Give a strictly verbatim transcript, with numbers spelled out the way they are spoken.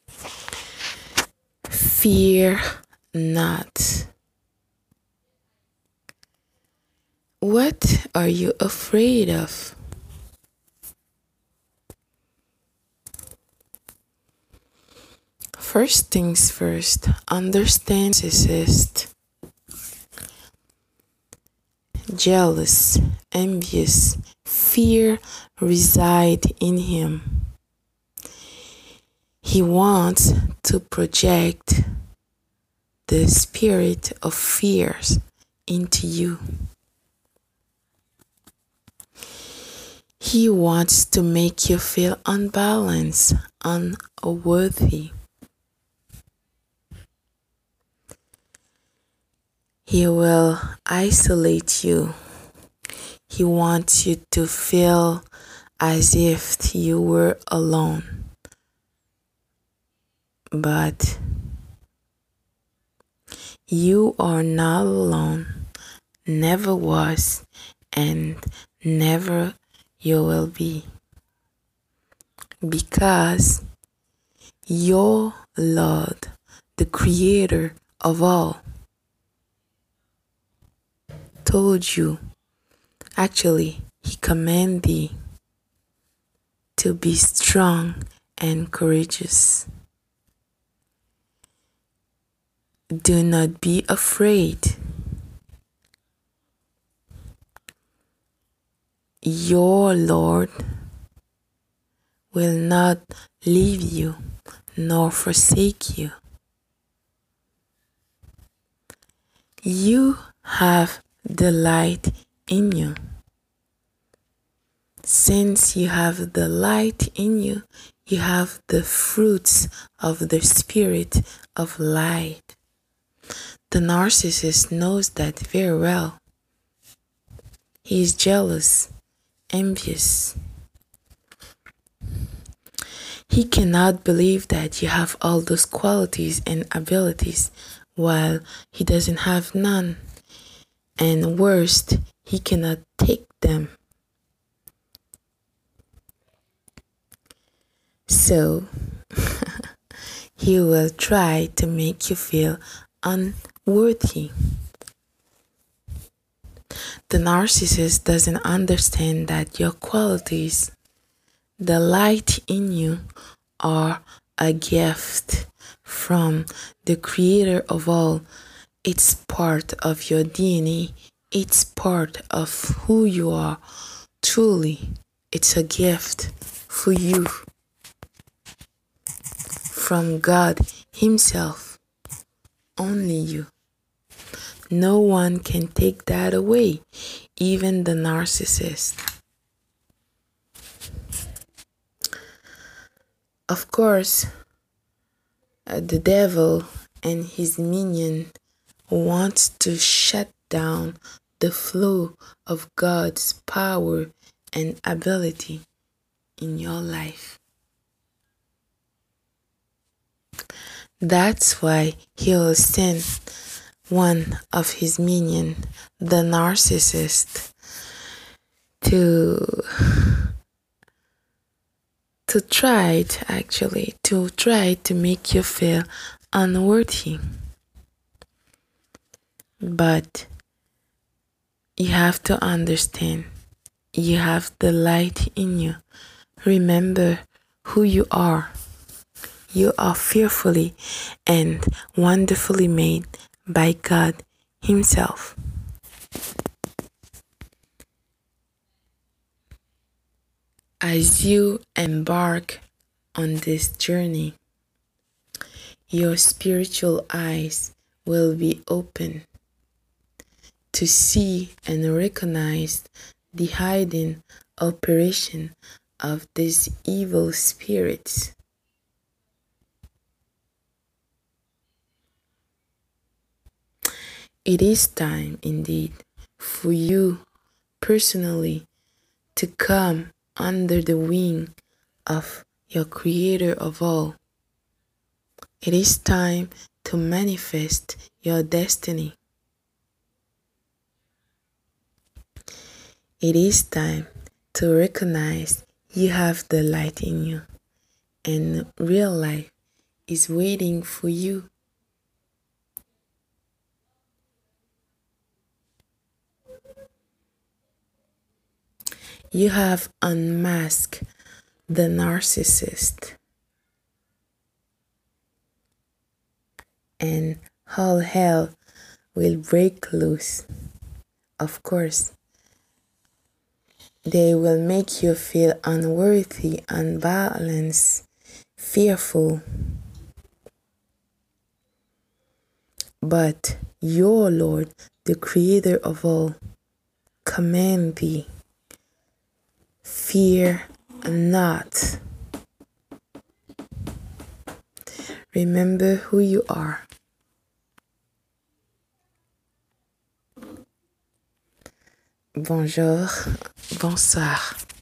Fear not. What are you afraid of? First things first, understand narcissist, jealous, envious, fear reside in him. He wants to project the spirit of fears into you. He wants to make you feel unbalanced, unworthy. He will isolate you. He wants you to feel as if you were alone. But you are not alone, never was, and never you will be. Because your Lord, the Creator of all, told you, actually, He commanded thee to be strong and courageous. Do not be afraid. Your Lord will not leave you nor forsake you. You have the light in you. Since you have the light in you, you have the fruits of the spirit of light. The narcissist knows that very well. He is jealous, envious. He cannot believe that you have all those qualities and abilities while he doesn't have none. And worst, he cannot take them. So, he will try to make you feel unworthy. The narcissist doesn't understand that your qualities, the light in you, are a gift from the Creator of all. It's part of your D N A. It's part of who you are. Truly, it's a gift for you from God Himself. Only you. No one can take that away, even the narcissist. Of course, uh, the devil and his minion wants to shut down the flow of God's power and ability in your life. That's why he will send one of his minions, the narcissist, to to try to actually to try to make you feel unworthy. But you have to understand, you have the light in you. Remember who you are. You are fearfully and wonderfully made by God Himself. As you embark on this journey, your spiritual eyes will be open to see and recognize the hidden operation of these evil spirits. It is time indeed for you personally to come under the wing of your Creator of all. It is time to manifest your destiny. It is time to recognize you have the light in you, and real life is waiting for you. You have unmasked the narcissist, and all hell will break loose. Of course, they will make you feel unworthy, unbalanced, fearful. But your Lord, the Creator of all, command thee, fear not. Remember who you are. Bonjour, bonsoir.